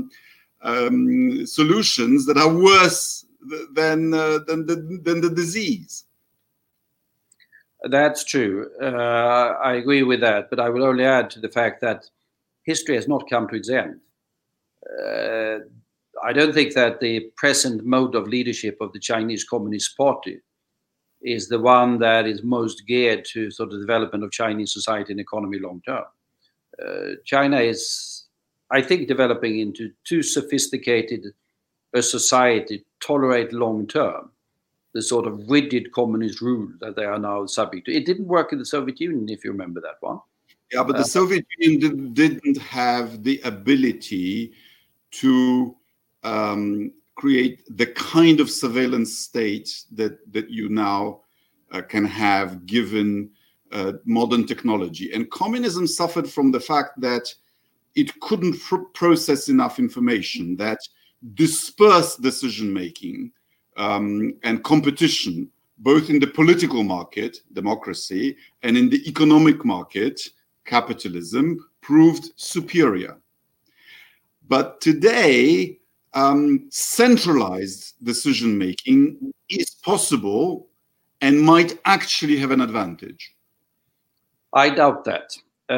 solutions that are worse than the disease. That's true. I agree with that, but I will only add to the fact that history has not come to its end. I don't think that the present mode of leadership of the Chinese Communist Party is the one that is most geared to sort of development of Chinese society and economy long term. China is, I think, developing into too sophisticated a society to tolerate long term the sort of rigid communist rule that they are now subject to. It didn't work in the Soviet Union, if you remember that one. Yeah, but the Soviet Union didn't have the ability to create the kind of surveillance state that you now can have given modern technology. And communism suffered from the fact that it couldn't process enough information, that dispersed decision-making and competition, both in the political market, democracy, and in the economic market, capitalism, proved superior. But today, centralized decision-making is possible and might actually have an advantage. I doubt that.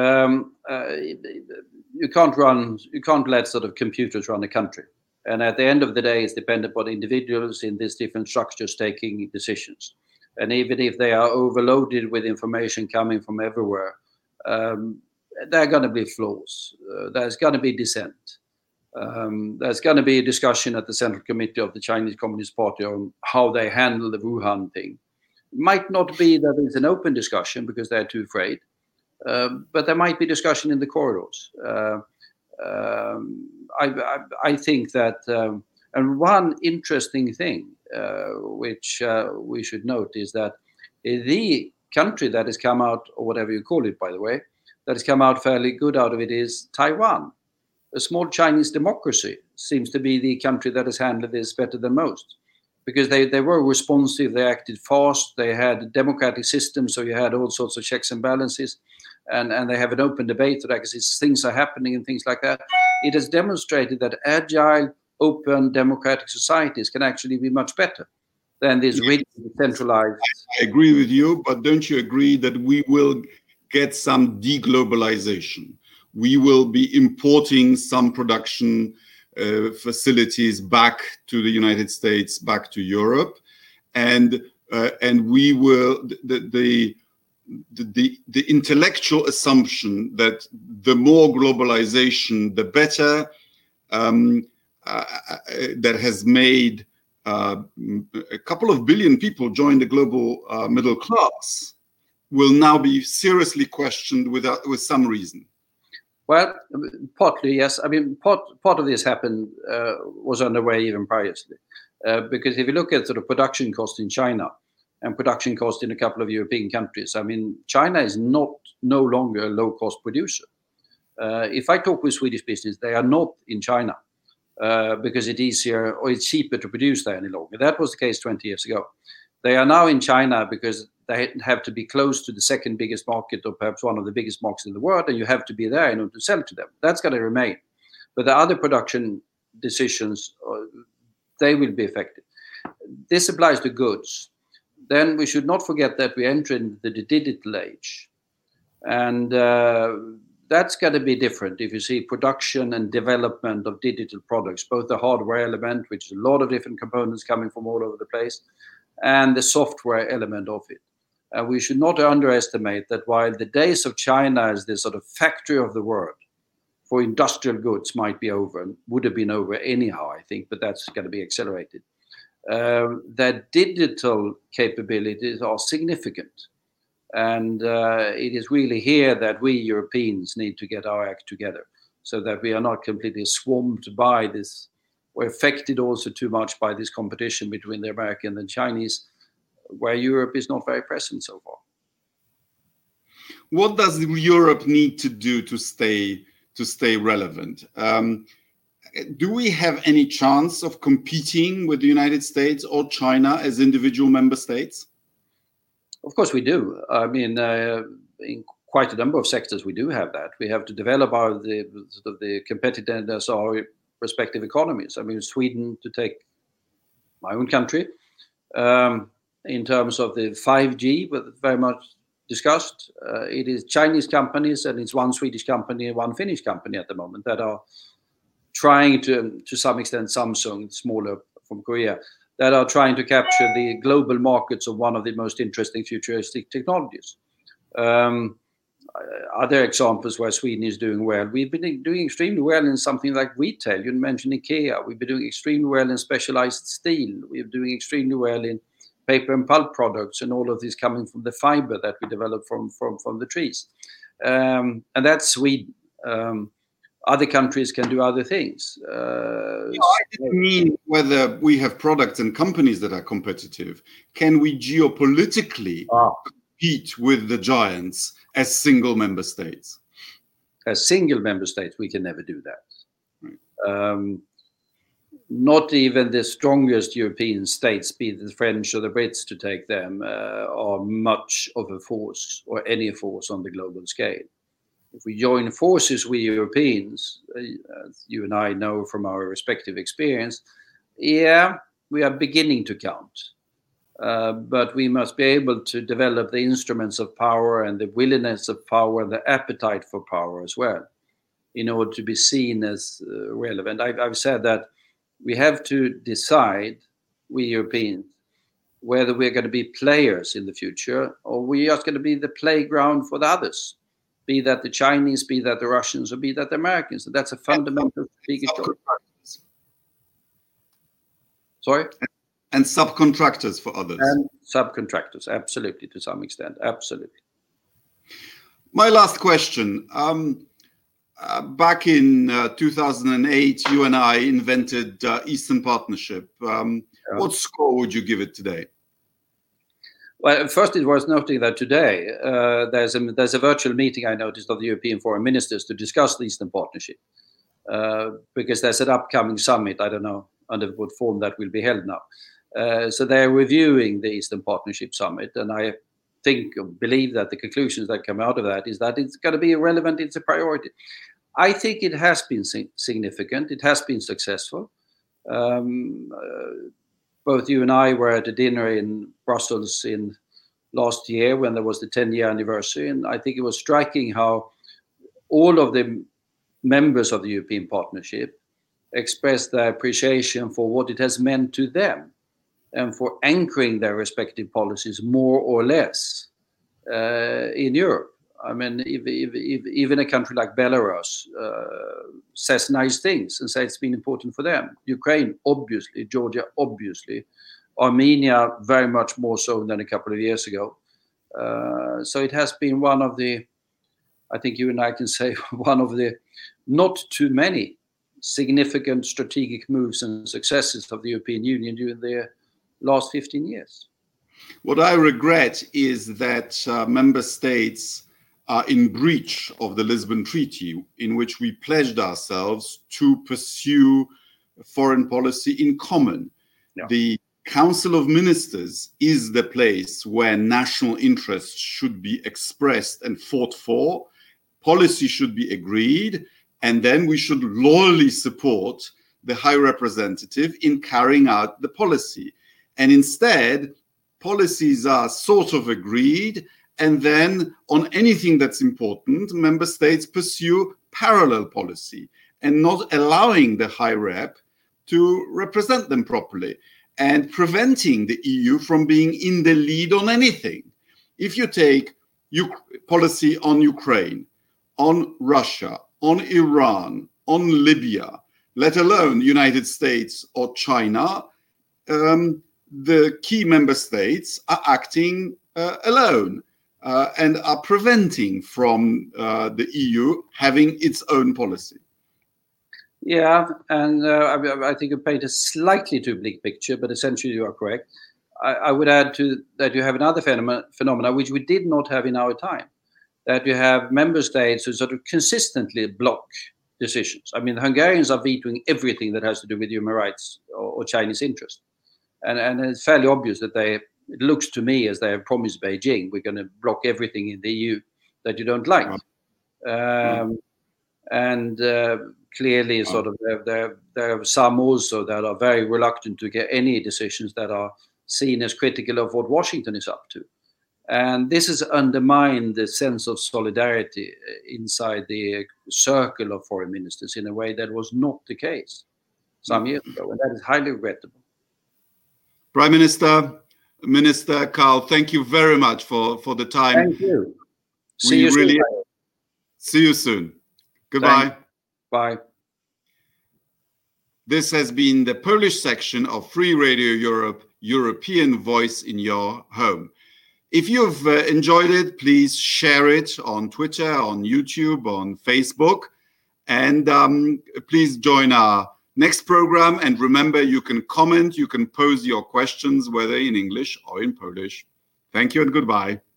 You can't let sort of computers run a country. And at the end of the day, it's dependent upon individuals in these different structures taking decisions. And even if they are overloaded with information coming from everywhere, there are going to be flaws. There's going to be dissent. There's going to be a discussion at the Central Committee of the Chinese Communist Party on how they handle the Wuhan thing. It might not be that it's an open discussion because they're too afraid, but there might be discussion in the corridors. I think that, and one interesting thing which we should note is that the country that has come out, or whatever you call it, by the way, that has come out fairly good out of it is Taiwan. A small Chinese democracy seems to be the country that has handled this better than most, because they were responsive, they acted fast, they had a democratic system, so you had all sorts of checks and balances, and they have an open debate so that things are happening and things like that. It has demonstrated that agile, open, democratic societies can actually be much better than this rigid, centralized. I agree with you, but don't you agree that we will get some deglobalization? We will be importing some production facilities back to the United States, back to Europe, and we will the intellectual assumption that the more globalization, the better, that has made a couple of billion people join the global middle class, will now be seriously questioned with some reason. Well, partly, yes. I mean, part of this happened, was underway even previously. Because if you look at sort of production cost in China and production cost in a couple of European countries, I mean, China is no longer a low-cost producer. If I talk with Swedish business, they are not in China because it's easier or it's cheaper to produce there any longer. That was the case 20 years ago. They are now in China because they have to be close to the second biggest market, or perhaps one of the biggest markets in the world, and you have to be there in order to sell to them. That's going to remain. But the other production decisions, they will be affected. This applies to goods. Then we should not forget that we enter into the digital age. And that's going to be different if you see production and development of digital products, both the hardware element, which is a lot of different components coming from all over the place, and the software element of it. We should not underestimate that while the days of China as the sort of factory of the world for industrial goods might be over, and would have been over anyhow, I think, but that's going to be accelerated. That digital capabilities are significant. And it is really here that we Europeans need to get our act together so that we are not completely swamped by this, or affected also too much by this competition between the American and Chinese, where Europe is not very present so far. What does Europe need to do to stay relevant? Do we have any chance of competing with the United States or China as individual member states? Of course we do. I mean, in quite a number of sectors we do have that. We have to develop the competitiveness of our respective economies. I mean, Sweden, to take my own country, in terms of the 5G, but very much discussed, it is Chinese companies and it's one Swedish company and one Finnish company at the moment that are trying to some extent, Samsung, smaller from Korea, that are trying to capture the global markets of one of the most interesting futuristic technologies. Other examples where Sweden is doing well, we've been doing extremely well in something like retail. You mentioned IKEA. We've been doing extremely well in specialized steel. We're doing extremely well in paper and pulp products, and all of this coming from the fiber that we develop from the trees. And that's Sweden. Other countries can do other things. I didn't mean whether we have products and companies that are competitive. Can we geopolitically compete with the giants as single member states? As single member states, we can never do that. Right. Not even the strongest European states, be it the French or the Brits to take them, are much of a force or any force on the global scale. If we join forces with Europeans, as you and I know from our respective experience, we are beginning to count. But we must be able to develop the instruments of power and the willingness of power and the appetite for power as well, in order to be seen as relevant. I've said that we have to decide, we Europeans, whether we're going to be players in the future or we are going to be the playground for the others, be that the Chinese, be that the Russians, or be that the Americans. And that's a fundamental strategic choice. Sorry? And subcontractors for others. And subcontractors, absolutely, to some extent, absolutely. My last question. Back in 2008, you and I invented Eastern Partnership. What score would you give it today? Well, first, it was noting that today there's a virtual meeting I noticed of the European foreign ministers to discuss the Eastern Partnership, because there's an upcoming summit. I don't know under what form that will be held now. So they're reviewing the Eastern Partnership Summit, and I believe that the conclusions that come out of that is that it's going to be relevant, it's a priority. I think it has been significant, it has been successful. Both you and I were at a dinner in Brussels in last year when there was the 10-year anniversary, and I think it was striking how all of the members of the European Partnership expressed their appreciation for what it has meant to them and for anchoring their respective policies more or less in Europe. I mean, even a country like Belarus says nice things and says it's been important for them. Ukraine, obviously. Georgia, obviously. Armenia, very much more so than a couple of years ago. So it has been one of the, I think you and I can say, one of the not too many significant strategic moves and successes of the European Union during the last 15 years. What I regret is that member states are in breach of the Lisbon Treaty, in which we pledged ourselves to pursue foreign policy in common. Yeah. The Council of Ministers is the place where national interests should be expressed and fought for. Policy should be agreed, and then we should loyally support the High Representative in carrying out the policy. And instead, policies are sort of agreed, and then on anything that's important, member states pursue parallel policy and not allowing the High Rep to represent them properly and preventing the EU from being in the lead on anything. If you take policy on Ukraine, on Russia, on Iran, on Libya, let alone United States or China, the key member states are acting alone. And are preventing from the EU having its own policy. Yeah, and I think you paint a slightly too bleak picture, but essentially you are correct. I would add to that you have another phenomena which we did not have in our time, that you have member states who sort of consistently block decisions. I mean, the Hungarians are vetoing everything that has to do with human rights or Chinese interest. And it's fairly obvious that it looks to me as they have promised Beijing, we're going to block everything in the EU that you don't like. And clearly, sort of, there are some also that are very reluctant to get any decisions that are seen as critical of what Washington is up to. And this has undermined the sense of solidarity inside the circle of foreign ministers in a way that was not the case some years ago, and that is highly regrettable. Prime Minister Carl, thank you very much for the time. Thank you. See you soon. See you soon. Goodbye. Bye. This has been the Polish section of Free Radio Europe, European Voice in Your Home. If you've enjoyed it, please share it on Twitter, on YouTube, on Facebook, and please join our next program. And remember, you can comment, you can pose your questions, whether in English or in Polish. Thank you and goodbye.